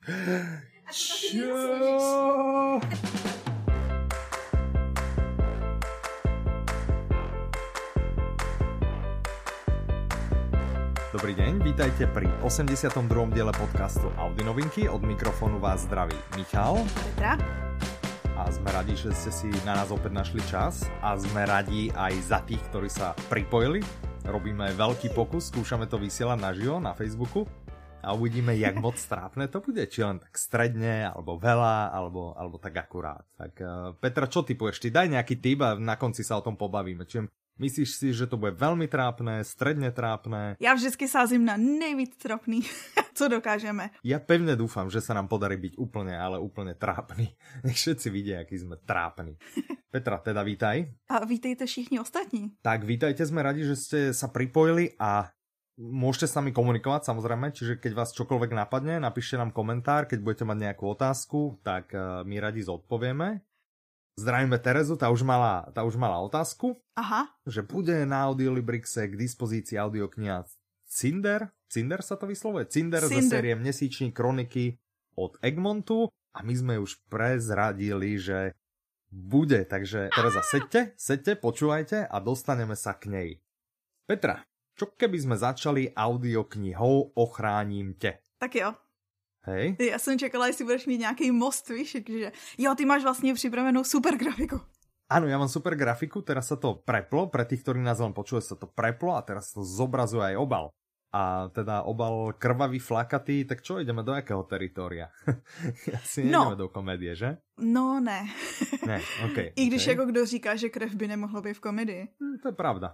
Čo? Dobrý deň, vítajte pri 82. diele podcastu Audi novinky. Od mikrofónu vás zdraví Michal. Petra. A sme radi, že ste si na nás opäť našli čas. A sme radi aj za tých, ktorí sa pripojili. Robíme veľký pokus, skúšame to vysielať naživo na Facebooku. A uvidíme, jak moc trápne to bude. Či len tak stredne, alebo veľa, alebo tak akurát. Tak Petra, čo ty povieš? Ty daj nejaký tip a na konci sa o tom pobavíme. Čiže myslíš si, že to bude veľmi trápne, stredne trápne? Ja vždycky sázím na nejvíc trápny, co dokážeme. Ja pevne dúfam, že sa nám podarí byť úplne, ale úplne trápny. Nech všetci vidia, aký sme trápni. Petra, teda vítaj. A vítejte všichni ostatní. Tak vítajte, sme radi, že ste sa pripojili a môžete s nami komunikovať, samozrejme, čiže keď vás čokoľvek napadne, napíšte nám komentár, keď budete mať nejakú otázku, tak my radi zodpovieme. Zdravíme Terezu, tá už mala otázku. Aha. Že bude na Audiolibrixe k dispozícii audiokniha Cinder sa to vyslovuje? Cinder ze série Měsíční kroniky od Egmontu a my sme už prezradili, že bude, takže Tereza, sedte, počúvajte a dostaneme sa k nej. Petra, čo keby sme začali audioknihou Ochráním tě? Tak jo. Hej. Já jsem čekala, jestli budeš mít nějaký most, víš, že jo, ty máš vlastně připravenou super grafiku. Áno, ja mám super grafiku, teraz sa to preplo, pre tých, ktorí nás len počuli, sa to preplo a teraz to zobrazuje aj obal. A teda obal krvavý, flakatý, tak čo, ideme do jakého teritória? Asi nejdeme do komédie, že? No, ne. Ne, okej. I když jako kdo říká, že krev by nemohla být v komedii. To je pravda.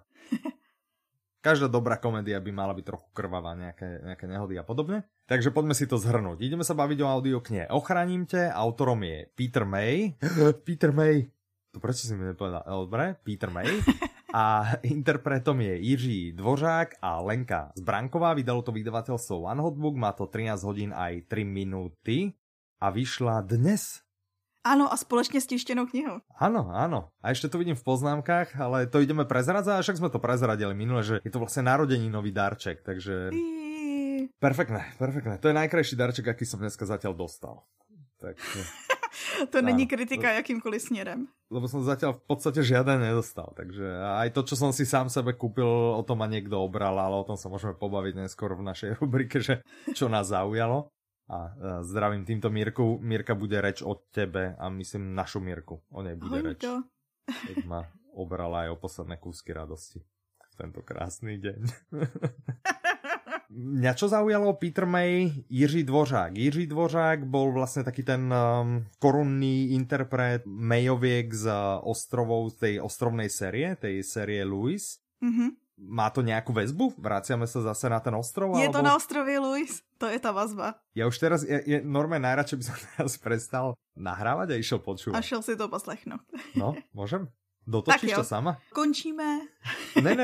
Každá dobrá komédia by mala byť trochu krvavá, nejaké nehody a podobne. Takže poďme si to zhrnúť. Ideme sa baviť o audioknihe Ochráním te, autorom je Peter May. Peter May. To prečo si mi nepovedal? Dobre, Peter May. A interpretom je Jiří Dvořák a Lenka Zbranková. Vydalo to vydavateľstvo One Hot Book, má to 13 hodín aj 3 minúty a vyšla dnes. Áno, a spoločne s tištenou knihou. Áno. A ešte to vidím v poznámkach, ale to ideme prezradzať, a však sme to prezradili minule, že je to vlastne narodeninový darček, takže... Perfektné. To je najkrajší darček, aký som dneska zatiaľ dostal. Tak... To není kritika jakýmkoliv směrem. Lebo som zatiaľ v podstate žiaden nedostal, takže aj to, čo som si sám sebe kúpil, o tom ma niekto obral, ale o tom sa môžeme pobaviť neskôr v našej rubrike, že čo nás zaujalo. A zdravím týmto Mírku. Mírka, bude reč o tebe a myslím našu Mírku. O nej bude reč. Keď ma obrala aj o posledné kúsky radosti v tento krásny deň. Mňa čo zaujalo Peter May, Jiří Dvořák. Jiří Dvořák bol vlastne taký ten korunný interpret Mayoviek z ostrovov, tej ostrovnej série, tej série Louis. Mhm. Má to nejakú väzbu? Vraciame sa zase na ten ostrov? Je to na ostrovie Louis, to je tá vazba. Ja už teraz, normálne najradšej by som teraz prestal nahrávať a išiel počúvať. A šel si to poslechnout. No, môžem? Dotočíš to sama? Končíme. Ne,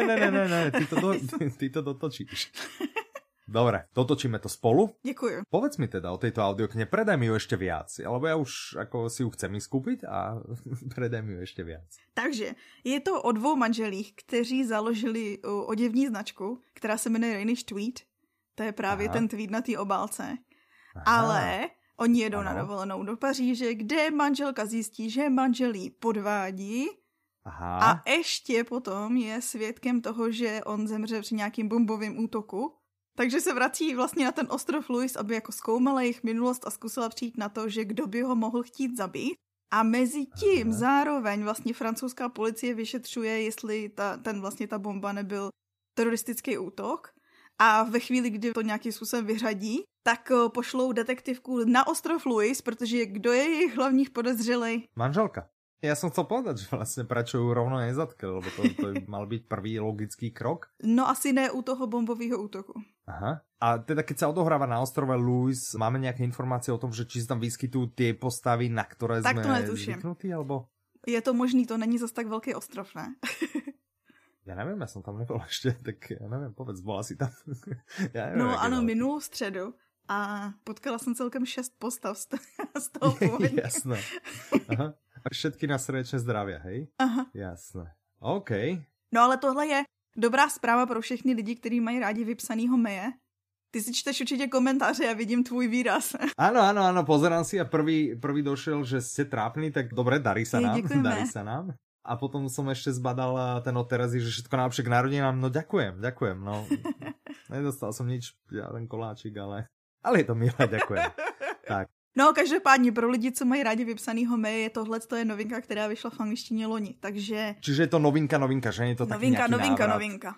ty to dotočíš. Dobre, dotočíme to spolu. Děkuju. Povedz mi teda o tejto audioknihe, predaj mi ju ešte viac, lebo ja už ako si ju chcem skúpiť a predaj mi ju ešte viac. Takže je to o dvou manželích, kteří založili oděvní značku, která se jmenuje Rhenish Tweed. To je právě ten tweed na té obálce. Ale oni jedou na dovolenou do Paříže, kde manželka zjistí, že manželí podvádí. A ještě potom je svědkem toho, že on zemře při nějakým bombovým útoku. Takže se vrací vlastně na ten ostrov Louis, aby jako zkoumala jejich minulost a zkusila přijít na to, že kdo by ho mohl chtít zabít. A mezi tím zároveň vlastně francouzská policie vyšetřuje, jestli ta bomba nebyl teroristický útok. A ve chvíli, kdy to nějakým způsobem vyřadí, tak pošlou detektivku na ostrov Louis, protože kdo je jejich hlavních podezřelej? Manželka. Ja som chcel povedať, že vlastne prečo ju rovno nezatkli, lebo to mal byť prvý logický krok. No asi ne u toho bombového útoku. Aha. A teda keď sa odohráva na ostrove Louis, máme nejaké informácie o tom, že či sa tam vyskytujú tie postavy, na ktoré tak sme zvyknutí, alebo... Je to možný, to není zas tak veľký ostrov, ne? Ja neviem, ja som tam nebol ešte, tak ja neviem, povedz, bola si tam. Ja neviem, no ano, minulou středu. A potkala som celkem 6 postav z toho pôvodne. Jasné. Aha. A všetky na srdečne zdravia, hej? Aha. Jasné. OK. No ale tohle je dobrá zpráva pro všechny lidi, kteří mají rádi vypsanýho Maye, Ty si čteš určitě komentáře, ja vidím tvůj výraz. Áno, pozerám si a prvý došiel, že ste trápni, tak dobre, darí sa nám. A potom som ešte zbadal ten od Terezy, že všetko najlepšie k narodinám. No ďakujem, no. Nedostal som nič, žiaden koláčik, ale je to milé, ďakujem. Tak. No, každopádně pro lidi, co mají rádi vypsanýho May, tohle je novinka, která vyšla v angličtině loni, takže... Čiže je to novinka, že nie je to taký nejaký návrat. Novinka.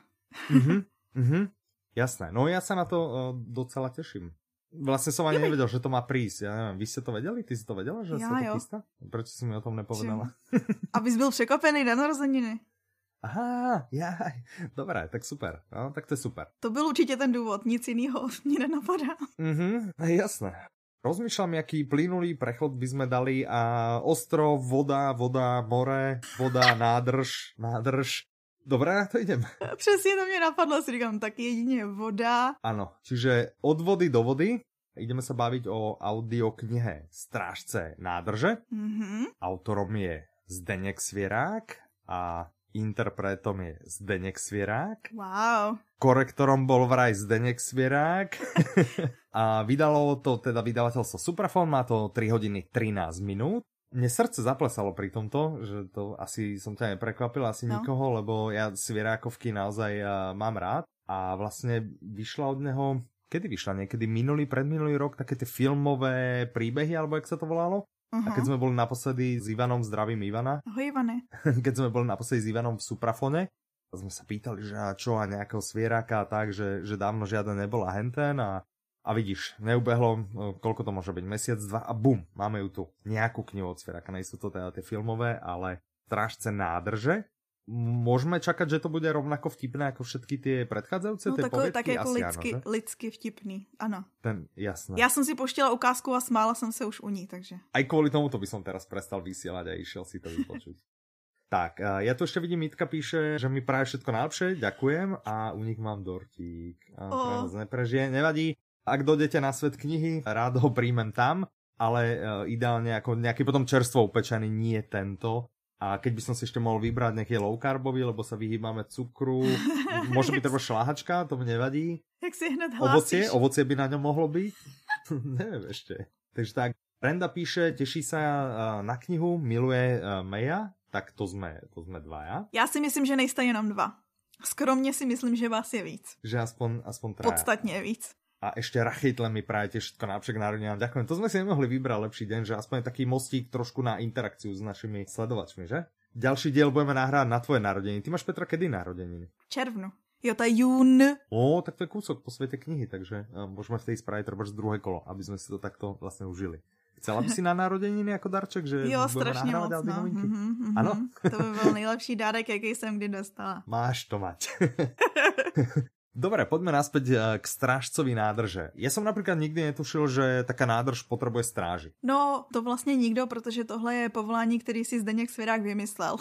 Jasné, no ja sa na to docela teším. Vlastne som ani nevedel, že to má prísť. Ja neviem, vy ste to vedeli? Ty si to vedela, že sa to chystá? Prečo si mi o tom nepovedala? Abys byl překvapený na narozeniny. Aha, jaj. Dobré, tak super. No, tak to je super. To byl určitě ten důvod, nic jiného mě nenapadá. Jasné. Rozmýšľam, aký plynulý prechod by sme dali a ostrov, voda, more, voda, nádrž. Dobre, na to idem. Přesně to mě napadlo, si říkám, tak jedině voda. Áno, čiže od vody do vody ideme sa baviť o audioknihe Strážce nádrže. Autorom je Zdeněk Svierák a interpretom je Zdeněk Svierák. Wow. Korektorom bol vraj Zdeněk Svierák. A vydalo to teda vydavateľstvo Suprafon, má to 3 hodiny 13 minút. Mne srdce zaplesalo pri tomto, že to asi som ťa neprekvapil, asi nikoho, lebo ja Svierákovky naozaj mám rád. A vlastne vyšla od neho, kedy vyšla? Niekedy predminulý rok, také tie filmové príbehy, alebo jak sa to volalo? A keď sme boli naposledy s Ivanom, zdravím Ivana. Ahoj Ivane. Keď sme boli naposledy s Ivanom v Suprafone, sme sa pýtali, že čo a nejakého svieráka a tak, že dávno žiaden nebol a henten a vidíš, neubehlo, koľko to môže byť, mesiac, 2 a bum, máme ju tu. Nejakú knihu od svieráka, nejsú to teda tie filmové, ale Strážce nádrže. Môžeme čakať, že to bude rovnako vtipné ako všetky tie predchádzajúce tie poviedky? Tak jako lidsky vtipný, ano. Jasné. Já jsem si poštila ukázku a smála jsem se už u ní, takže. Aj kvôli tomuto by som teraz prestal vysielať a išiel si to vypočuť. Tak, ja tu ešte vidím, Mitka píše, že mi praje všetko najlepšie, ďakujem a u nich mám dortík. Neprežije, nevadí. Ak dojdete na svet knihy, rád ho príjmem tam, ale ideálne ako nejaký potom čerstvo upečený, nie tento. A keď by som si ešte mohol vybrať nejaký low carbový, lebo sa vyhýbame cukru, môže byť treba šláhačka, to mi nevadí. Jak si hned hlásíš. Ovocie by na ňom mohlo byť. Neviem ešte. Takže tak, Brenda píše, teší sa na knihu, miluje Maya, tak to sme dvaja. Já si myslím, že nejste jenom 2. Skromně si myslím, že vás je víc. Že aspoň traja. Podstatně víc. A ešte Rachejtle mi prajete všetko najlepšie k narodinám. Ďakujem. To sme si nemohli vybrať lepší deň, že aspoň je taký mostík trošku na interakciu s našimi sledovačmi, že? Ďalší diel budeme nahrávať na tvoje narodeniny. Ty máš, Petra, kedy narodeniny? V červnu. Jo, to je jún. Tak to je kúsok po svete knihy, takže môžeme v tej spraviť treba druhé kolo, aby sme si to takto vlastne užili. Chcela by si na narodeniny ako darček, že jo, strašně moc, no. Ano? To by byl nejlepší dárek, jaký jsem kdy dostala. Máš to mať. Dobre, poďme naspäť k strážcovi nádrže. Ja som napríklad nikdy netušil, že taká nádrž potrebuje stráži. No, to vlastne nikdo, protože tohle je povolání, který si Zdeněk Svěrák vymyslel.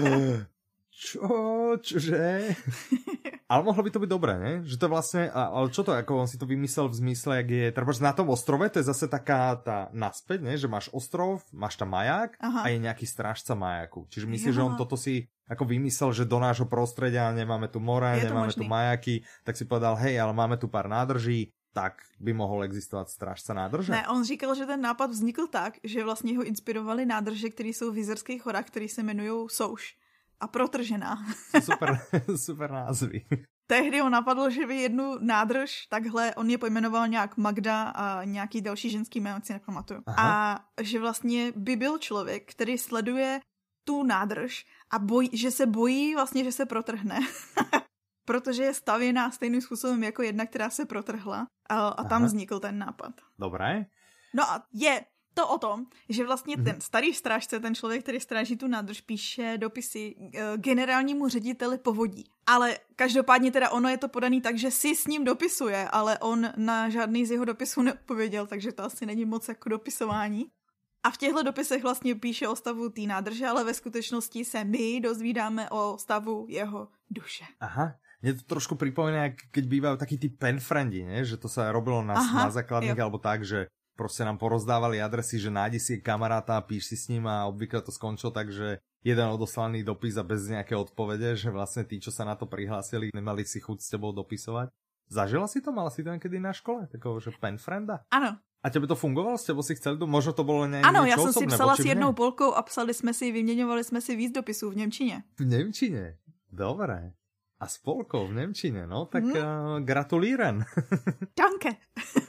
Čože? Ale mohlo by to byť dobré, ne? Že to vlastne, ale čo to, ako on si to vymyslel v zmysle, jak je, treba na tom ostrove, to je zase taká tá naspäť, ne? Že máš ostrov, máš tam maják a je nejaký strážca majáku. Čiže myslíš, že on toto si ako vymyslel, že do nášho prostredia nemáme tu more, nemáme tu majaky, tak si povedal, hej, ale máme tu pár nádrží, tak by mohol existovať strážca nádrže? Ne, on říkal, že ten nápad vznikl tak, že vlastně ho inspirovali nádrže, které jsou v Jizerských horách, které se jmenují Souš a Protržená. Super názvy. Tehdy ho napadlo, že by jednu nádrž, takhle, on je pojmenoval nějak Magda a nějaký další ženský jméno, si nepamatuju. A že vlastně by byl člověk, který sleduje tu nádrž a že se bojí vlastně, že se protrhne. Protože je stavěná stejným způsobem jako jedna, která se protrhla a tam vznikl ten nápad. Dobré. No a je to o tom, že vlastně ten starý strážce, ten člověk, který stráží tu nádrž, píše dopisy generálnímu řediteli povodí. Ale každopádně teda ono je to podaný tak, že si s ním dopisuje, ale on na žádný z jeho dopisů neodpověděl, takže to asi není moc jako dopisování. A v těchto dopisech vlastně píše o stavu té nádrže, ale ve skutečnosti se my dozvídáme o stavu jeho duše. Aha. Mne to trošku pripomína, keď bývajú takí tí penfriendi, ne? Že to sa robilo na základných alebo tak, že proste nám porozdávali adresy, že nájdi si kamaráta a píš si s ním a obvykle to skončilo tak, že jeden odoslaný dopis a bez nejaké odpovede, že vlastne tí, čo sa na to prihlásili, nemali si chuť s tebou dopisovať. Zažila si to? Mala si to niekedy na škole? Takového, že penfrienda? Ano. A tebe to fungovalo? S tebou si chceli? Možno to bolo niečo Ano, osobné. já jsem si psala s jednou mne? Polkou a vyměňovali jsme si víc dopisů v němčině. V Nemčine? Dobré. A s Polkou v Nemčine, no? Tak gratulíren. Danke.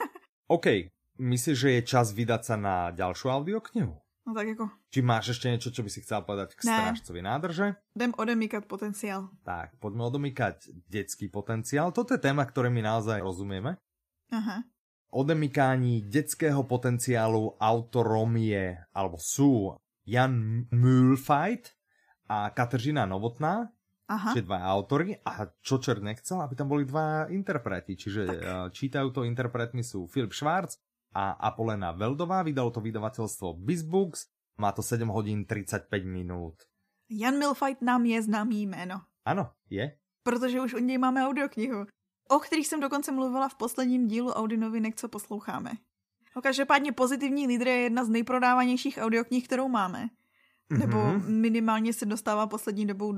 OK. Myslíš, že je čas vydať sa na ďalšiu audioknihu? No tak jako... Či máš ešte niečo, čo by si chcela povedať k Strážcovi nádrže? Jdem odemýkat potenciál. Tak, poďme odomykať detský potenciál. Toto je téma, ktoré my naozaj rozumieme. Aha. Odemykání detského potenciálu autorom je, alebo sú Jan Mühlfeit a Kateřina Novotná, čiže dva autory. A čo čert nechcel, aby tam boli dva interpreti. Čiže čítajú to interpretmi sú Filip Švárc a Apolena Veldová. Vydalo to vydavateľstvo BizBooks. Má to 7 hodín 35 minút. Jan Mühlfeit nám je známý jméno. Ano, je. Protože už od něj máme audioknihu, o kterých jsem dokonce mluvila v posledním dílu Audinovinek, co posloucháme. No, každopádně Pozitivní lídr je jedna z nejprodávanějších audioknih, kterou máme. Nebo minimálně se dostává poslední dobou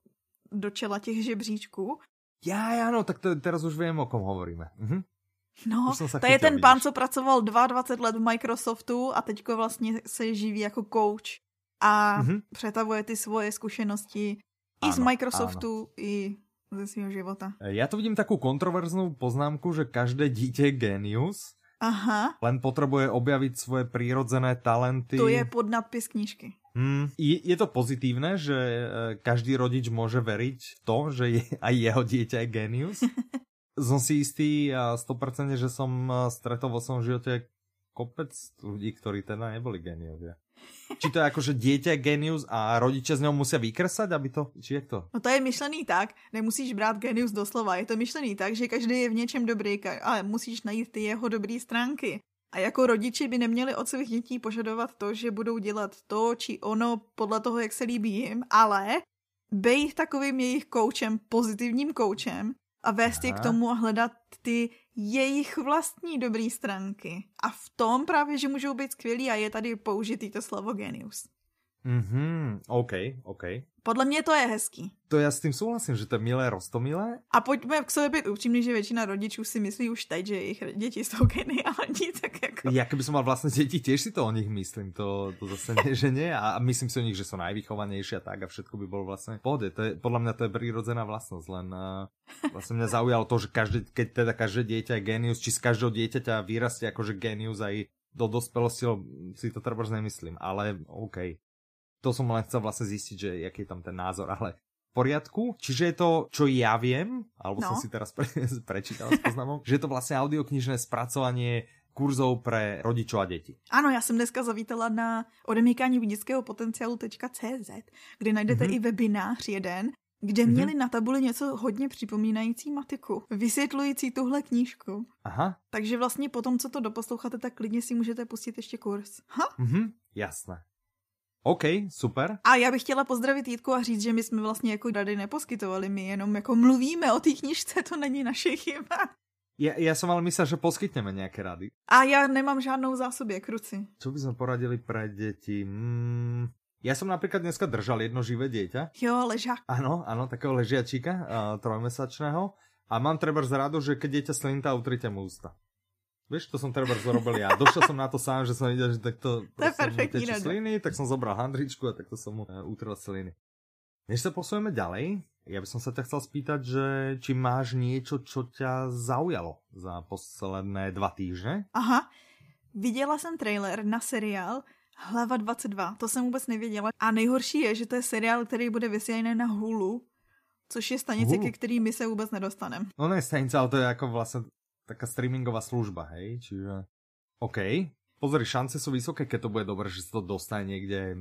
do čela těch žebříčků. Ja, no, tak teraz už viem, o kom hovoríme. No, to je ten pán, co pracoval 22 let v Microsoftu a teďko vlastně se živí jako coach a přetavuje ty svoje zkušenosti i z Microsoftu, i ze svého života. Ja tu vidím takú kontroverznú poznámku, že každé dieťa je génius. Aha. Len potrebuje objaviť svoje prírodzené talenty. To je podnadpis knižky. Je to pozitívne, že každý rodič môže veriť v to, že aj jeho dieťa je génius? Som si istý a 100%, že som stretol vo svojom živote kopec ľudí, ktorí teda neboli géniovia. Či to je ako, že dieťa je génius a rodiče z ňou musia vykresať, aby to... Či je to? No to je myšlený tak, nemusíš brát génius doslova, je to myšlený tak, že každý je v něčem dobrý, ale musíš najít ty jeho dobré stránky. A jako rodiči by neměli od svých dětí požadovat to, že budou dělat to či ono podle toho, jak se líbí jim, ale bejt takovým jejich koučem, pozitivním koučem a vést je k tomu a hledat ty jejich vlastní dobrý stránky. A v tom právě, že můžou být skvělí a je tady použitý to slovo genius. OK. Podle mě to je hezký. To ja s tým súhlasím, že to je milé, roztomilé. A pojďme k sobě být upřímní, že většina rodičů si myslí už teď, že jejich děti jsou geniální, tak jako... Ja keby som mal vlastné deti, tiež si to o nich myslím, to zase nie, že nie. A myslím si o nich, že sú najvychovanejšie a tak a všetko by bolo vlastne v pohode. Podľa mňa to je prírodzená vlastnosť, len vlastne mňa zaujalo to, že keď každé dieťa je genius, či z každého dieťaťa vyrastie akože genius aj do dospelosti, si to trebárs nemyslím, ale OK. To som len chcel vlastne zistiť, že aký je tam ten názor, ale v poriadku. Čiže je to, čo ja viem, alebo som si teraz prečítal s poznámom, že je to vlastne audioknižné spracovanie kurzov pre rodičov a deti. Ano, já jsem dneska zavítala na odemykání dětského potenciálu.cz, kde najdete i webinář jeden, kde měli na tabuli něco hodně připomínající matiku, vysvětlující tuhle knížku. Aha. Takže vlastně potom, co to doposloucháte, tak klidně si můžete pustit ještě kurz. Jasné. OK, super. A já bych chtěla pozdravit Jitku a říct, že my jsme vlastně jako rady neposkytovali, my jenom jako mluvíme o té knižce, to není naše chyba. Ja som ale myslel, že poskytneme nejaké rady. A ja nemám žádnou zásobě kruci. Čo by sme poradili pre deti? Ja som napríklad dneska držal jedno živé dieťa. Jo, ležák. Áno, takého ležiačíka, 3-mesačného. A mám trebárs radu, že keď dieťa slintá, utrite mu ústa. Vieš, to som trebárs zrobil ja. Došiel som na to sám, že som videl, že takto mu tečú sliny, tak som zobral handričku a takto som mu utrel sliny. Než sa posujeme ďalej, ja by som sa ťa chcel spýtať, že či máš niečo, čo ťa zaujalo za posledné 2 týždne? Aha, viděla jsem trailer na seriál Hlava 22, to jsem vůbec nevěděla. A nejhorší je, že to je seriál, který bude vysílaný na Hulu, což je stanice, ke který my se vůbec nedostaneme. No ne stanice, ale to je ako vlastne taká streamingová služba, hej? Čiže OK. Pozri, šance sú vysoké, keď to bude dobré, že sa to dostane niekde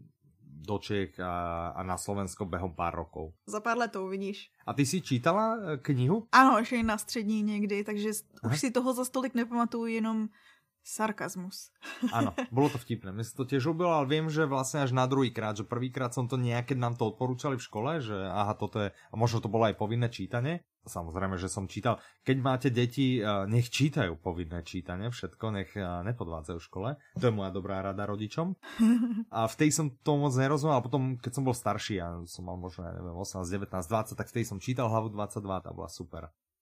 do Čech a na Slovensko behom pár rokov. Za pár let to uvidíš. A ty si čítala knihu? Ano, ještě na střední někdy, takže už si toho za stolik nepamatuju, jenom sarkazmus. Áno, bolo to vtipné. Mne sa to tiež ľúbilo, ale viem, že vlastne až na druhýkrát, že prvýkrát som to keď nám to odporúčali v škole, že aha, toto je, a možno to bolo aj povinné čítanie. Samozrejme, že som čítal. Keď máte deti, nech čítajú povinné čítanie, všetko, nech nepodvádzajú v škole. To je moja dobrá rada rodičom. A vtedy som to moc nerozumel, a potom, keď som bol starší, ja som mal možno, neviem, 18, 19, 20, tak vtedy som čítal Hlavu 22, tá bola super.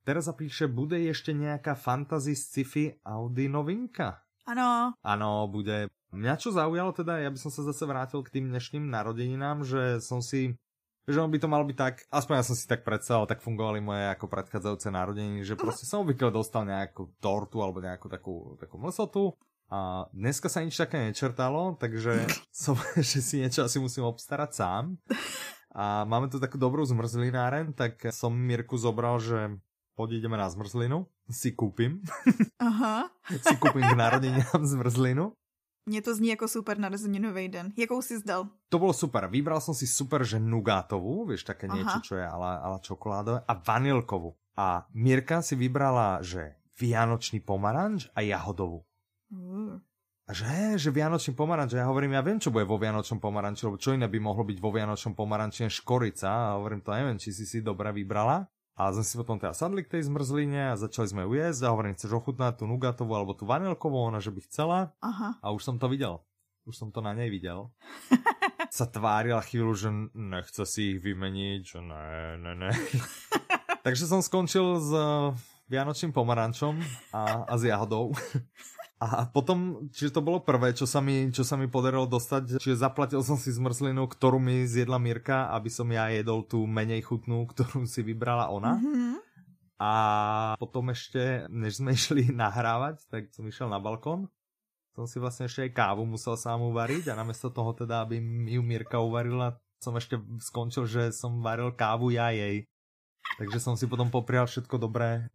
Tereza píše, bude ešte nejaká fantasy sci-fi Audi novinka? Áno. Áno, bude. Mňa čo zaujalo teda, ja by som sa zase vrátil k tým dnešným narodeninám, že on by to mal byť tak, aspoň ja som si tak predstavil, tak fungovali moje ako predchádzajúce narodeniny, že proste som obvykle dostal nejakú tortu alebo nejakú takú mlsotu a dneska sa nič také nečertalo, takže že si niečo asi musím obstarať sám. A máme tu takú dobrú zmrzlináren, tak som Mirku zobral, že ideme na zmrzlinu, si kúpim. Aha. Si kúpim k narodeninám zmrzlinu. Mne to zní ako super narozeninový den. Jakou si zdal? To bolo super. Vybral som si super, že nugátovú, vieš, také niečo, čo je ala čokoládové, a vanilkovú. A Mirka si vybrala, že vianočný pomaranč a jahodovú. A že vianočný pomaranč, ja hovorím, ja viem, čo bude vo vianočnom pomaranči, lebo čo iné by mohlo byť vo vianočnom pomaranči, škorica, a hovorím, to neviem, či si dobre vybrala. A sme si potom teda sadli k tej zmrzline a začali sme ju jesť a hovorím, chceš ochutnať tú nugatovú alebo tú vanilkovú, ona že by chcela. Aha. A už som to videl. Už som to na nej videl. Sa tvárila chvíľu, že nechce si ich vymeniť, že ne. Takže som skončil s vianočným pomarančom a s jahodou. A potom, čiže to bolo prvé, čo sa mi podarilo dostať, čiže zaplatil som si zmrzlinu, ktorú mi zjedla Mirka, aby som ja jedol tú menej chutnú, ktorú si vybrala ona. Mm-hmm. A potom ešte, než sme išli nahrávať, tak som išiel na balkón. Som si vlastne ešte aj kávu musel sám uvariť a namiesto toho teda, aby mi ju Mirka uvarila, som ešte skončil, že som varil kávu ja jej. Takže som si potom poprial všetko dobré.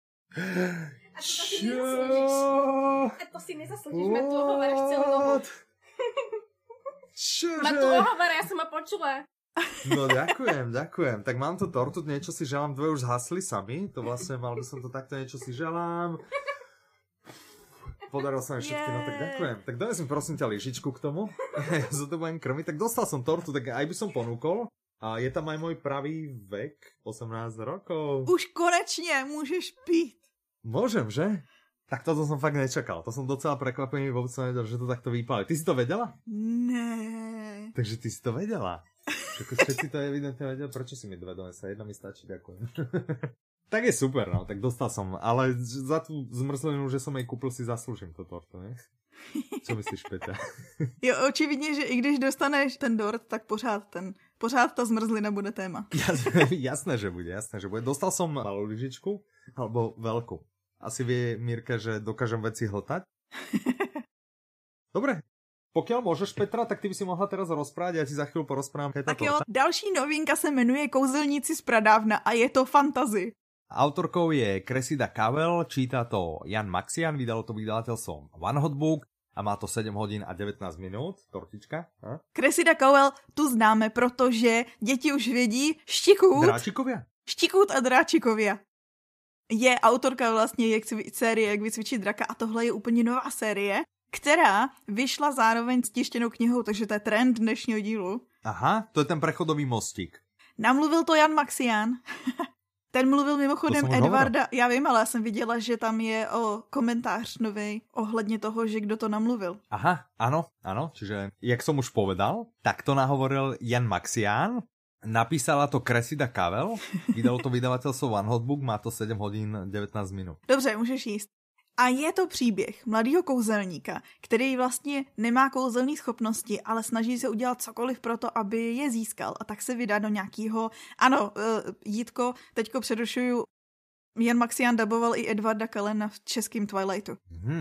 To si nezaslúžiš, ma tu ohováraš celú dobu. Čože? Ma tu ohovára, ja som ma počula. No ďakujem. Tak mám tu tortu, niečo si želám, dve už zhasli sami, to vlastne mal by som to takto, niečo si želám. Podarilo sa mi všetky, no tak ďakujem. Tak daj mi prosím ťa lyžičku k tomu, ja sa to budem krmiť, tak dostal som tortu, tak aj by som ponúkol. A je tam aj môj pravý vek, 18 rokov. Už konečne môžeš piť. Môžem, že? Tak toto som fakt nečakal. To som docela prekvapený, vôbec som vedel, že to takto vypáli. Ty si to vedela? Ne. Takže ty si to vedela. Všetci to evidentne vedeli. Prečo si mi dve donesa? Jedna mi stačí, ďakujem. Tak je super, no. Tak dostal som. Ale za tú zmrzlinu, že som jej kúpil, si zaslúžim to torto, ne? Co myslíš, Peťa? Jo, očividně, že i když dostaneš ten dort, tak pořád ta zmrzlina bude téma. Jasné, že bude. Dostal som malú lyžičku, alebo veľkú. Asi vie Mirka, že dokážem veci hltať. Dobre. Pokiaľ môžeš, Petra, tak ty by si mohla teraz rozprávať, ja ti za chvíľu porozprávam. Tak jo, další novinka se jmenuje Kouzelníci z pradávna a je to fantasy. Autorkou je Cressida Cavell, číta to Jan Maxian, vydalo to vydavateľstvom One Hot Book a má to 7 hodín a 19 minút, tortička. Cressida Cavell tu známe, protože děti už vědí Štikút a Dráčikovia. Je autorka vlastně série Jak vycvičit draka a tohle je úplně nová série, která vyšla zároveň s tištěnou knihou, takže to je trend dnešního dílu. Aha, to je ten prechodový mostík. Namluvil to Jan Maxian. Ten mluvil mimochodem Edvarda, já vím, ale já jsem viděla, že tam je komentář novej ohledně toho, že kdo to namluvil. Aha, áno, čiže jak som už povedal, tak to nahovoril Jan Maxian, napísala to Cressida Cavell, vydalo to vydavateľstvo One Hot Book, má to 7 hodín 19 minut. Dobře, můžeš jíst. A je to příběh mladého kouzelníka, který vlastně nemá kouzelné schopnosti, ale snaží se udělat cokoliv pro to, aby je získal. A tak se vydá do nějakého... Ano, Jítko, teďko přerušuju. Jan Maxian daboval i Edvarda Kallena v českým Twilightu.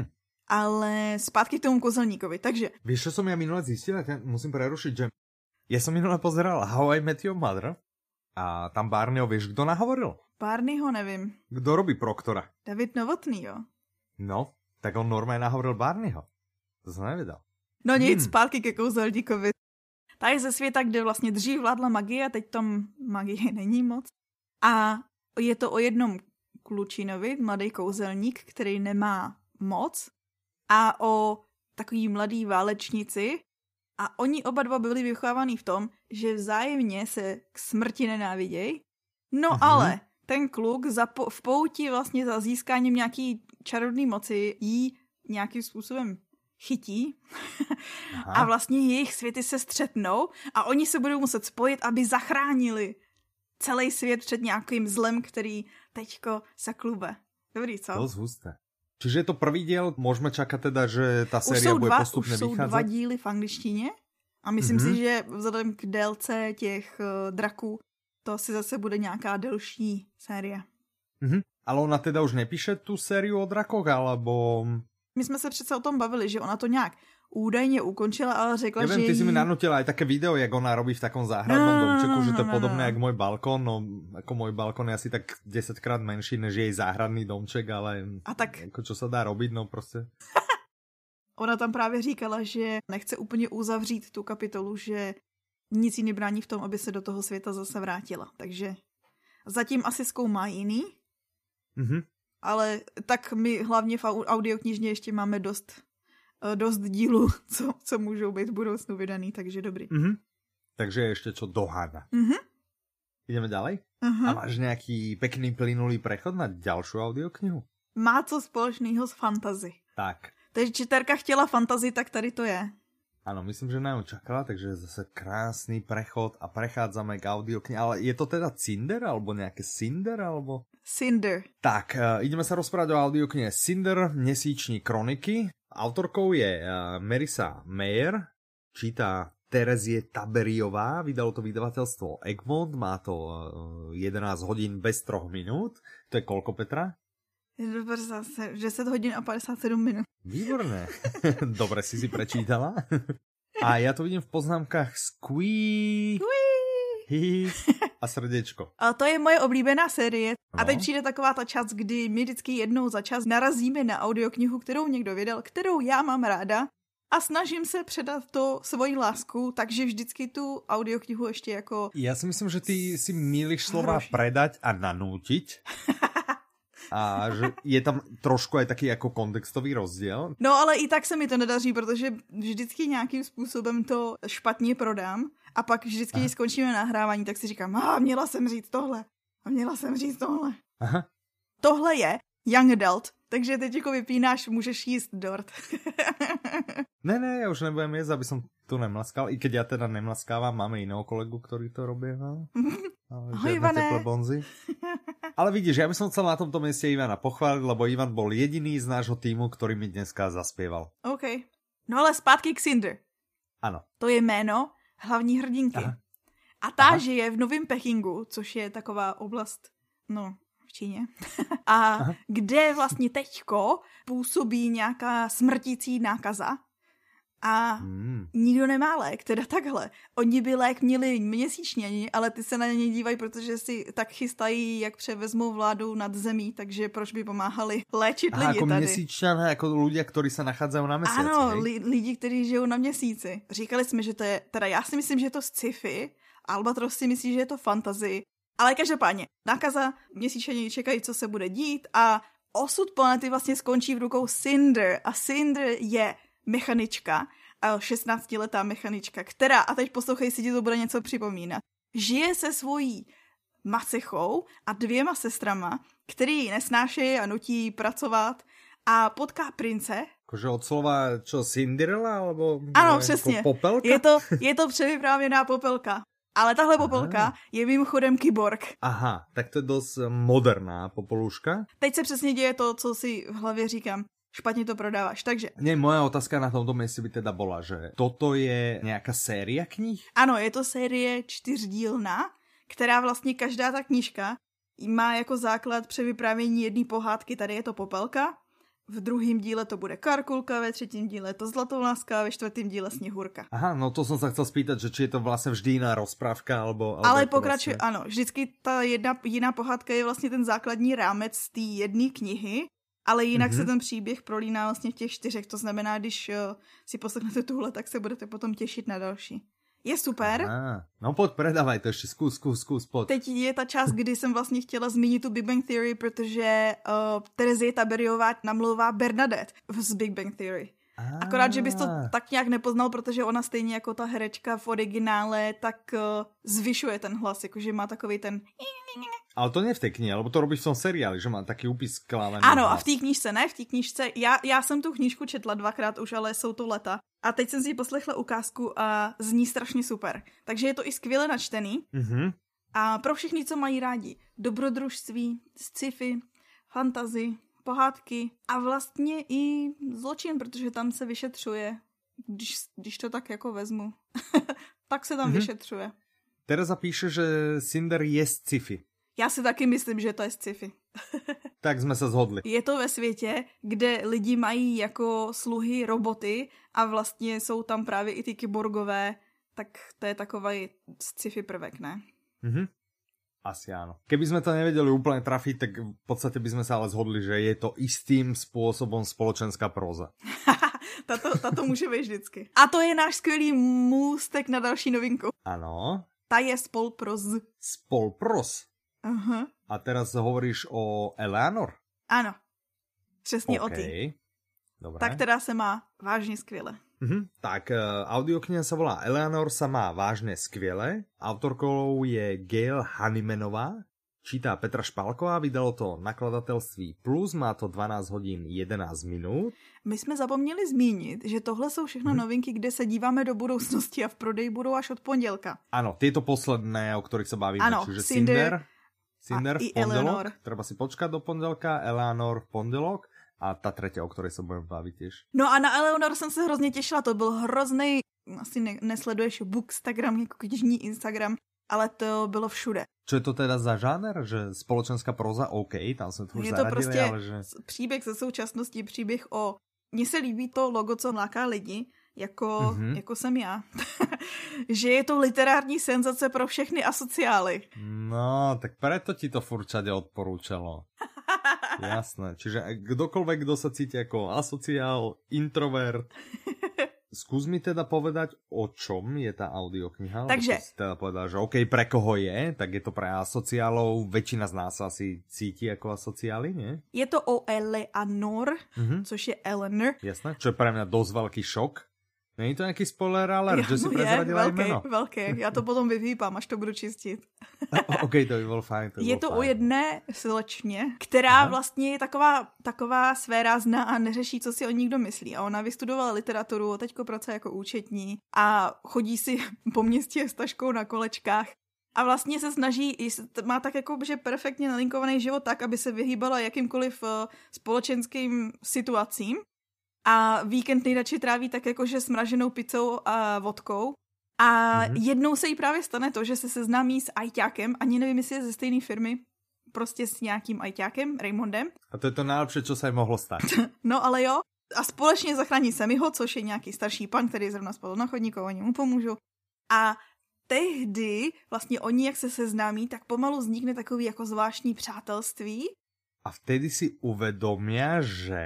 Ale zpátky k tomu kouzelníkovi, takže... Víš, čo som ja minule zistil? Musím prerušiť, že ja som minule pozeral How I Met Your Mother a tam Barneyho, vieš, kto nahovoril? Barneyho nevím. Kto robí Proktora? David Novotný, jo. No, tak on normálne nahovoril Barneyho. To som nevedel. No nic, zpátky ke kouzelníkovi. Ta je ze světa, kde vlastně dřív vládla magie a teď tam magie není moc. A je to o jednom klučinovi, mladý kouzelník, který nemá moc, a o takový mladý válečnici. A oni oba dva byli vychovávaní v tom, že vzájemně se k smrti nenávidějí. No ale ten kluk v pouti vlastně za získáním nějaký čarodný moci jí nějakým způsobem chytí a vlastně jejich světy se střetnou a oni se budou muset spojit, aby zachránili celý svět před nějakým zlem, který teďko sa klube. Dobrý, co? Dosť husté. Čiže je to prvý diel, môžeme čakať teda, že tá séria bude postupne vychádzať? Už sú 2 díly v angličtině a myslím si, že vzhledem k délce těch draků, to asi zase bude nějaká delší série. Ale ona teda už nepíše tu sériu o drakoch, alebo... My jsme se přece o tom bavili, že ona to nějak údajně ukončila, ale řekla, že ty si mi nanutila aj také video, jak ona robí v takom záhradnom domčeku, že to je podobné jak môj balkón, no ako môj balkón je asi tak 10-krát menší než jej záhradný domček, ale a tak... ako čo sa dá robiť, no prostě. Ona tam právě říkala, že nechce úplně uzavřít tu kapitolu, že nic jí nebrání v tom, aby se do toho světa zase vrátila, takže zatím asi zkoumá jiný, ale tak my hlavně v audioknižně ještě máme dost dílů, co můžou být v budoucnu vydaný, takže dobrý. Takže ještě čo doháda. Ideme ďalej? A máš nejaký pekný plynulý prechod na ďalšiu audioknihu? Má co společného s fantasy. Tak. Takže čiterka chtěla fantasy, tak tady to je. Áno, myslím, že na ňu čakala, takže zase krásny prechod a prechádzame k audioknihe. Ale je to teda Cinder, alebo nejaké Cinder, alebo... Cinder. Tak, ideme sa rozprávať o audioknihe Cinder, Měsíční kroniky. Autorkou je Marissa Meyer, číta Terezie Taberiová, vydalo to vydavateľstvo Egmont, má to 11 hodín bez 3 minút. To je koľko, Petra? 10 hodín a 57 minút. Výborné. Dobre si prečítala. A ja to vidím v poznámkach squeak a srdečko. A to je moje oblíbená série. A teď přijde taková ta čas, kdy my vždycky jednou za čas narazíme na audioknihu, kterou někdo vydal, kterou já mám ráda a snažím se předat to svoji lásku, takže vždycky tu audioknihu ještě jako... Ja si myslím, že ty si mýliš slova predať a nanútiť. A že je tam trošku aj taký jako kontextový rozdíl. No ale i tak se mi to nedaří, protože vždycky nějakým způsobem to špatně prodám a pak vždycky, když skončíme nahrávání, tak si říkám, měla jsem říct tohle a měla jsem říct tohle. Aha. Tohle je Young Adult, takže teď jako vypínáš, můžeš jíst dort. Ne, ja už nebudem jesť, aby som tu nemlaskal, i keď ja teda nemlaskávam, máme iného kolegu, ktorý to robí. Ahoj, Ivane. Teplé bonzy. Ale vidíš, ja by som chcel na tomto mieste Ivana pochváliť, lebo Ivan bol jediný z nášho týmu, ktorý mi dneska zaspieval. OK. No ale zpátky k Cinder. Ano. To je jméno hlavní hrdinky. Aha. A ta žije v Novém Pekingu, což je taková oblast, no, v Číně. A kde vlastně teďko působí nějaká smrtící nákaza. A nikdo nemá lék, teda takhle. Oni by lék měli měsíčně, ale ty se na ně dívají, protože si tak chystají, jak převezmou vládu nad zemí, takže proč by pomáhali léčit lidi jako tady. Měsíčané, jako ľudia, ktorí se nachádzají na měsíci. Ano, lidi, kteří žijou na měsíci. Říkali jsme, že to je, teda já si myslím, že je to sci-fi, Albatros si myslí, že je to fantasy, ale každopádně, nákaza, měsíčané čekají, co se bude dít a osud planety vlastně skončí v rukou Cinder a Cinder je mechanička, 16letá mechanička, která, a teď poslouchej si, ti to bude něco připomínat, žije se svojí macechou a 2 sestrama, který ji nesnášejí a nutí pracovat a potká prince. Jakože od slova čo, Cinderella, alebo... Ano, přesně. Jako popelka? Je to převyprávěná popelka. Ale tahle popelka je mimochodem kyborg. Aha, tak to je dost moderná popoluška. Teď se přesně děje to, co si v hlavě říkám. Špatně to prodáváš, takže... Nie, moja otázka na tomto mieste by teda bola, že toto je nejaká séria knih? Ano, je to série 4dílná, která vlastně každá ta knížka má jako základ převyprávění jedné pohádky, tady je to popelka, v 2. díle to bude Karkulka, ve 3. díle to Zlatovláska a ve 4. díle Sněhurka. Aha, no to som sa chcel spýtať, že či je to vlastne vždy jiná rozprávka, alebo ale pokračuje, vlastne... ano, vždycky ta jiná pohádka je vlastně ten základní rámec z té jedné knihy, ale jinak se ten příběh prolíná vlastně v těch 4, to znamená, když si poslechnete tuhle, tak se budete potom těšit na další. Je super. No pojď, predávaj to ještě, zkus, pojď. Teď je ta část, kdy jsem vlastně chtěla zmínit tu Big Bang Theory, protože Terezie Taberiová namlouvá Bernadette z Big Bang Theory. Akorát, že bys to tak nějak nepoznal, protože ona stejně jako ta herečka v originále, tak zvyšuje ten hlas, jakože má takový ten... Ale to nie v té knihe, lebo to robíš v tom seriáli, že má taký úpis klávený. Ano, hlas. A v té knížce ne, v té knížce. Já jsem tu knížku četla 2krát už, ale jsou to leta. A teď jsem si poslechla ukázku a zní strašně super. Takže je to i skvěle načtený. A pro všechny, co mají rádi dobrodružství, sci-fi, fantasy, pohádky a vlastně i zločin, protože tam se vyšetřuje, když to tak jako vezmu, tak se tam vyšetřuje. Tereza píše, že Cinder je sci-fi. Já si taky myslím, že to je sci-fi. Tak jsme se shodli. Je to ve světě, kde lidi mají jako sluhy roboty a vlastně jsou tam právě i ty kyborgové, tak to je takový sci-fi prvek, ne? Asi áno. Keby sme to nevedeli úplne trafiť, tak v podstate by sme sa ale zhodli, že je to istým spôsobom spoločenská próza. Tato může být vždycky. A to je náš skvělý můstek na další novinku. Ano. Ta je spolproz. Spolproz. Aha. A teraz hovoríš o Eleanor? Ano. Přesně o ty. Dobré. Tak teda se má vážně skvěle. Tak audiokniha sa volá Eleanor sa má vážne skvěle. Autorkou je Gail Honeymanová. Čítá Petra Špalková, vydalo to nakladatelství Plus, má to 12 hodin 11 minut. My jsme zapomněli zmínit, že tohle jsou všechno novinky, kde se díváme do budoucnosti a v prodeji budou až od pondělka. Ano, tieto posledné, o ktorých sa bavíme, ano, čiže Cinder v pondelok, Eleanor. Treba si počkať do pondelka, Eleanor v pondelok a ta tretia, o ktorej sa budeme baviť tiež. No a na Eleanor jsem se hrozně těšila, to byl hrozný, asi nesleduješ Bookstagram, jako knižní Instagram, ale to bylo všude. Čo je to teda za žáner? Že spoločenská proza, OK, tam sme to už je zaradili, to prostě ale že... příběh ze současnosti, příběh o... Mně se líbí to logo, co láká lidi, jako jsem já. Že je to literární senzace pro všechny asociály. No, tak preto ti to furčade odporúčalo. Jasné, čiže kdokoľvek, kdo sa cíti ako asociál, introvert, skús mi teda povedať, o čom je tá audiokniha. Takže... Si teda povedal, že OK, pre koho je, tak je to pre asociálov, väčšina z nás asi cíti ako asociály, nie? Je to o Eleanor, což je Eleanor. Jasné, čo je pre mňa dosť veľký šok. Není to nějaký spoiler alert, že si prezradila jméno? Velké, já to potom vyhýpám, až to budu čistit. OK, to by bylo fajn. Je to o jedné slečně, která vlastně je taková svérázná a neřeší, co si o ní kdo myslí. A ona vystudovala literaturu, teďko pracuje jako účetní a chodí si po městě s taškou na kolečkách. A vlastně se snaží, má tak jako, že perfektně nalinkovaný život tak, aby se vyhýbala jakýmkoliv společenským situacím. A víkend nejradši tráví tak jakože smraženou pizzou a vodkou. A jednou se jí právě stane to, že se seznámí s ajťákem, ani nevím, jestli je ze stejné firmy, prostě s nějakým ajťákem, Raymondem. A to je to nejlepší, co se jí mohlo stát. No ale jo. A společně zachrání Sammyho, což je nějaký starší pan, který zrovna spadl na chodníku, oni mu pomůžou. A tehdy vlastně oni, jak se seznámí, tak pomalu vznikne takový jako zvláštní přátelství. A vtedy si uvedomia, že...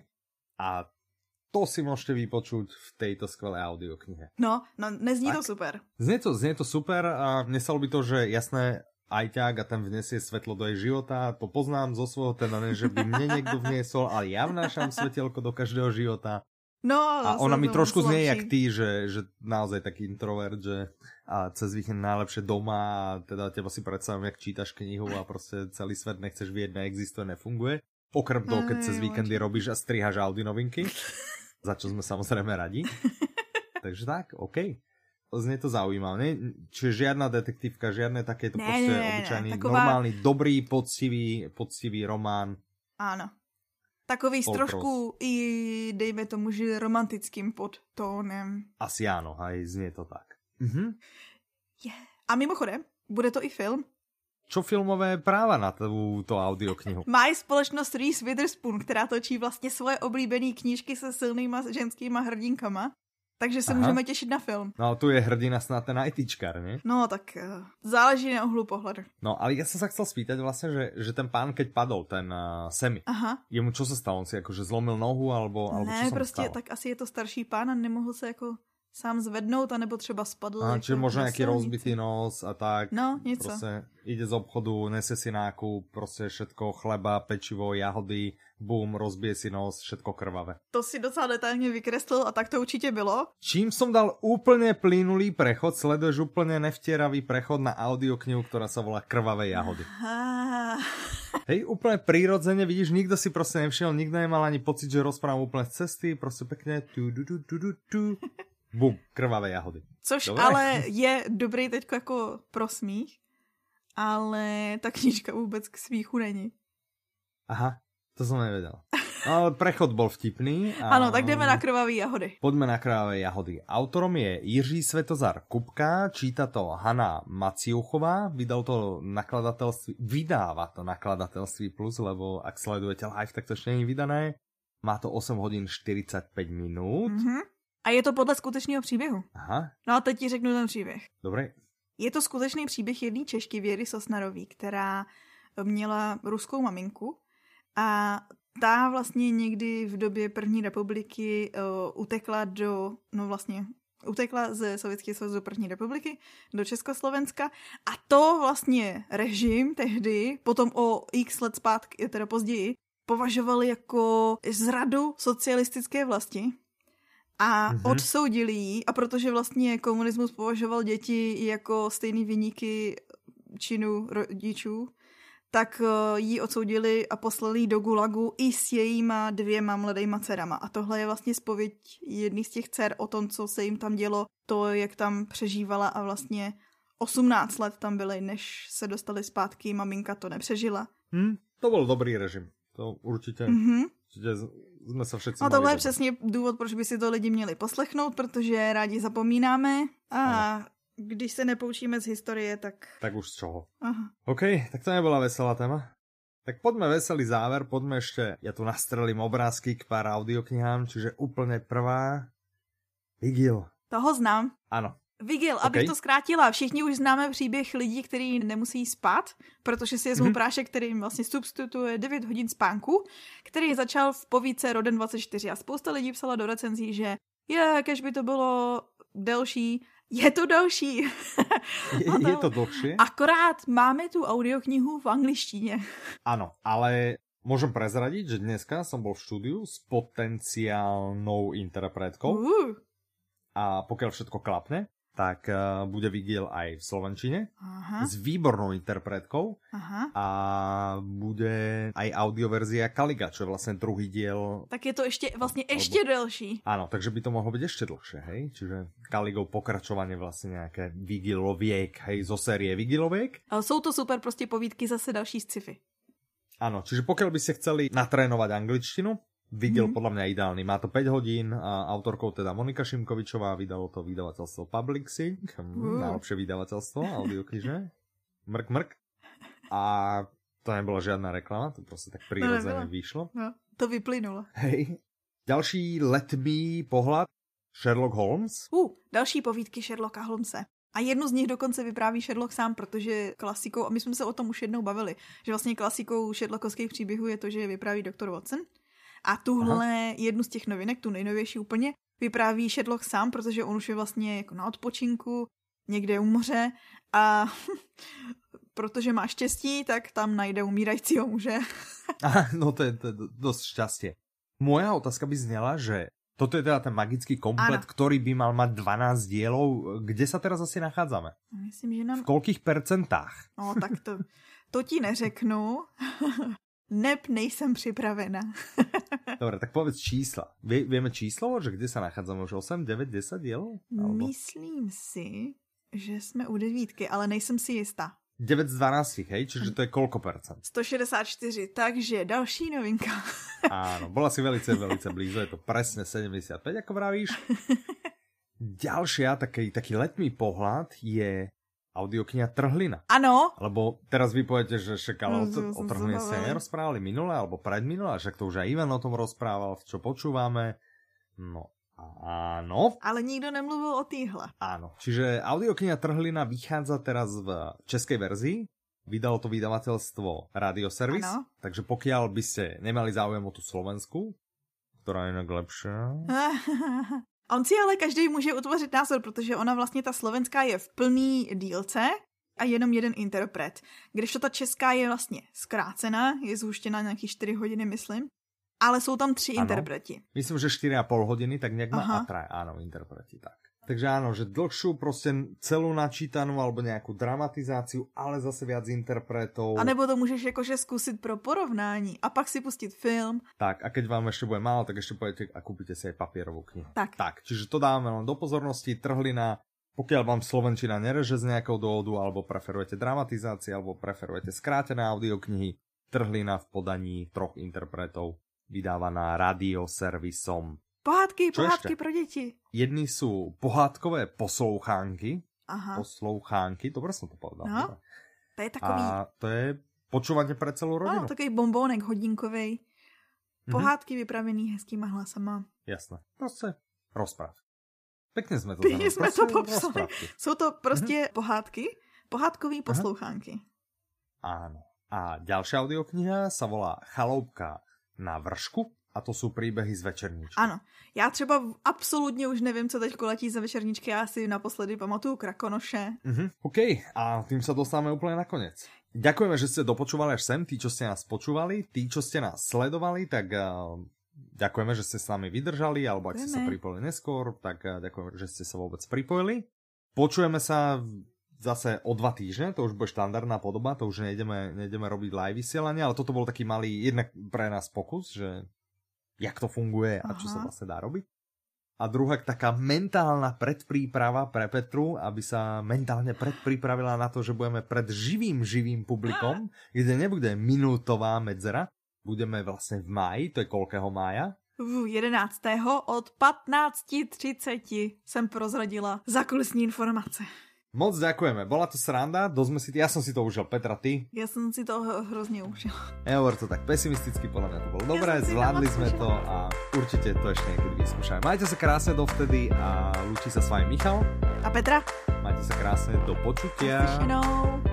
A to si môžete vypočuť v tejto skvelé audioknihe. No, nezní tak, to super. Znie to super a mne sa ľúbi to, že jasné, ajťák a ten vnesie svetlo do jej života, to poznám zo svojho, teda ne, že by mne niekto vniesol, ale ja vnášam svetelko do každého života. No, a ona mi trošku znie jak ty, že naozaj taký introvert, že a cez víkend najlepšie doma a teda teba si predstavím, jak čítaš knihu a proste celý svet nechceš vidieť, neexistuje, nefunguje. Okrem toho, keď cez víkendy robíš a strihaš Audi novinky, za čo sme samozrejme radi. Takže tak, OK. Znie to zaujímavé. Čiže žiadna detektívka, žiadne takéto proste obyčajný, taková... normálny, dobrý, poctivý román. Áno. Takový trošku i, dejme tomu, že romantickým podtónem. Asi áno, aj znie to tak. Yeah. A mimochodem, bude to i film. Čo filmové práva na túto audioknihu? Má společnost Reese Witherspoon, která točí vlastně svoje oblíbené knížky se silnýma ženskýma hrdinkama. Takže se můžeme těšit na film. No tu je hrdina snad ten ITčkar, ne? No tak záleží na uhlu pohledu. No ale ja som sa chcel spýtať vlastne, že ten pán, keď padol, ten Sammy, jemu čo sa stalo? On si akože zlomil nohu, alebo čo sa prostě stalo? Tak asi je to starší pán a nemohl se jako sám zvednout, anebo třeba spadl. Čiže možno nejaký rozbitý nos a tak. No, něco. Proste ide z obchodu, nese si nákup, proste všetko, chleba, pečivo, jahody, bum, rozbije si nos, všetko krvavé. To si docela detailně vykreslil a tak to určitě bylo. Čím som dal úplne plynulý prechod, sleduješ úplne nevtieravý prechod na audioknihu, ktorá sa volá Krvavé jahody. Hej, úplne prírodzene, vidíš, nikto si proste nevšiel, nikto nemal ani pocit, že rozprávam úplne z cesty, proste pekne bum, Krvavé jahody. Což Dobre? ale je dobrý teďko jako prosmích. ale ta knížka vůbec k smíchu není. Aha, to som nevedel. No, ale prechod bol vtipný. A... Ano, tak jdeme na krvavé jahody. Poďme na krvavé jahody. Autorom je Jiří Svetozar Kupka, číta to Hana Maciuchová, vydáva to nakladatelství Plus, lebo ak sledujete live, tak to ešte nie je vydané. Má to 8 hodin 45 minút. A je to podle skutečného příběhu. Aha. No a teď ti řeknu ten příběh. Dobre. Je to skutečný příběh jedné Češky Věry Sosnarový, která měla ruskou maminku a ta vlastně někdy v době první republiky utekla ze Sovětského svazu do první republiky do Československa a to vlastně režim tehdy, potom o x let zpátky, teda později, považovali jako zradu socialistické vlasti a odsoudili ji, a protože vlastně komunismus považoval děti jako stejný viníky činu rodičů, tak ji odsoudili a poslali do gulagu i s jejíma 2 mladejma dcerama. A tohle je vlastně zpověď jedný z těch dcer o tom, co se jim tam dělo, to, jak tam přežívala a vlastně 18 let tam byly, než se dostali zpátky, maminka to nepřežila. To byl dobrý režim. To určitě jsme se všetci. No tohle je přesně důvod, proč by si to lidi měli poslechnout, protože rádi zapomínáme a když se nepoučíme z historie, tak... Tak už z čoho. Aha. OK, tak to nebyla veselá téma. Tak poďme veselý záver, poďme ešte, ja tu nastrelím obrázky k pár audioknihám, čiže úplne prvá Vigil. Toho znám. Ano. Vigil, abych to zkrátila, všichni už známe příběh lidí, kteří nemusí spát, protože si vezmou prášek, který jim vlastně substituje 9 hodin spánku, který začal v povídce Roden 24 a spousta lidí psala do recenzí, že kež by to bylo delší. Je to delší. Je to dlhšie. Akorát máme tu audioknihu v angličtině. Áno, ale môžem prezradiť, že dneska som bol v štúdiu s potenciálnou interpretkou. A pokiaľ všetko klapne, tak bude Vigil aj v slovenčine. Aha. S výbornou interpretkou. Aha. A bude aj audioverzia Kaliga, čo je vlastne druhý diel. Tak je to ešte delší. Áno, takže by to mohlo byť ešte dlhšie, hej? Čiže Kaligov pokračovanie vlastne nejaké Vigiloviek, hej, zo série Vigiloviek. Ale sú to super prostě povídky, zase další sci-fi. Áno, čiže pokiaľ by ste chceli natrénovať angličtinu, Vigil podľa mňa ideálny. Má to 5 hodín a autorkou teda Monika Šimkovičová, vydalo to vydavateľstvo Publixing, najlepšie vydavateľstvo, audioknižné. Mrk. A to nebola žiadna reklama, to proste tak prirodzene vyšlo. No, to vyplynulo. Hej. Ďalší letmý pohľad, Sherlock Holmes. Další povídky Sherlocka Holmese. A jednu z nich dokonce vypráví Sherlock sám, protože klasikou, a my jsme se o tom už jednou bavili, že vlastně klasikou Sherlockovských příběhů je to, že je vypráví doktor Watson. A tuhle jednu z těch novinek, tu nejnovější úplně, vypráví Sherlock sám, protože on už je vlastně jako na odpočinku, někde u moře a protože má štěstí, tak tam najde umírajícího muže. No to je dosť šťastie. Moja otázka by znela, že toto je teda ten magický komplet, ktorý by mal mať 12 dielov. Kde sa teraz asi nachádzame? Myslím, že nám... V koľkých percentách? No tak to ti neřeknu. Nejsem připravena. Dobre, tak povedz čísla. Vieme číslo, že kde sa nachádzame? Už 8, 9, 10 dielov? Alebo... Myslím si, že jsme u 9, ale nejsem si jistá. 9 z 12, hej? Čiže to je koľko percent? 164, takže další novinka. Áno, bola si velice blízo, je to presne 75, ako vravíš. Ďalšia, taký letný pohľad je audiokniha Trhlina. Áno. Lebo teraz vy poviete, že však ale o Trhline sa nerozprávali minule alebo predminule, však to už aj Ivan o tom rozprával, čo počúvame. No, áno. Ale nikto nemluvil o týhle. Áno, čiže audiokniha Trhlina vychádza teraz v českej verzii. Vydalo to vydavateľstvo Radioservis. Áno. Takže pokiaľ by ste nemali záujem o tú Slovensku, ktorá je inak lepšia... On si ale každý může utvořit názor, protože ona vlastně ta slovenská je v plný dílce a jenom jeden interpret. Kdežto ta česká je vlastně zkrácená, je zhuštěna nějaký 4 hodiny, myslím. Ale jsou tam 3 interpreti. Myslím, že 4,5 hodiny, tak nejak má a 3, áno, interpreti, tak. Takže áno, že dlhšiu proste celú načítanú alebo nejakú dramatizáciu, ale zase viac interpretov. A nebo to môžeš jakože skúsiť pro porovnání a pak si pustiť film. Tak, a keď vám ešte bude málo, tak ešte pôjdete a kúpite si aj papierovú knihu. Tak, čiže to dáme len do pozornosti. Trhlina Pokiaľ vám slovenčina nereže z nejakého dôvodu, alebo preferujete dramatizácie, alebo preferujete skrátené audioknihy, Trhlina v podaní 3 interpretov, vydávaná radioservisom. Pohádky pro deti. Jedni sú pohádkové poslouchánky. Aha. Poslouchánky, dobre som to povedal. No, to je takový... A to je počúvanie pre celú rodinu. No, takový bombónek hodinkovej. Pohádky vypravený hezkýma hlasama. Jasné. Proste rozpráv. Pekne sme to popsali. Sú to proste pohádky. Pohádkový poslouchánky. Áno. A ďalšia audiokniha sa volá Chaloupka na vršku a to sú príbehy z večerníčky. Ano. Já třeba absolutně už nevím, co teď letí za večerníčky. Já si naposledy pamatuju Krakonoše. OK. A tým sa dostávame úplne na koniec. Ďakujeme, že ste dopočúvali až sem. Tí, čo ste nás počúvali, tí, čo ste nás sledovali, tak ďakujeme, že ste s nami vydržali, alebo ak ste sa pripojili neskôr, tak ďakujeme, že ste sa vôbec pripojili. Počujeme sa zase o 2 týždne, to už bude štandardná podoba, to už nejdeme robiť live vysielanie, ale toto bol taký malý, jednak pre nás pokus, že jak to funguje a čo sa vlastne dá robiť. A druhá taká mentálna predpríprava pre Petru, aby sa mentálne predpripravila na to, že budeme pred živým publikom, kde nebude minútová medzera. Budeme vlastne v máji, to je koľkého mája? 11. od 15:30 jsem prozradila zákulisní informace. Moc ďakujeme, bola to sranda, ja som si to užil, Petra, ty? Ja som si to hrozne užil. Nehovor to tak pesimisticky, podľa mňa to bolo dobré, zvládli sme to a určite to ešte niekedy vyskúšame. Majte sa krásne dovtedy a lúči sa s vami Michal. A Petra. Majte sa krásne, do počutia. Naslyšenou.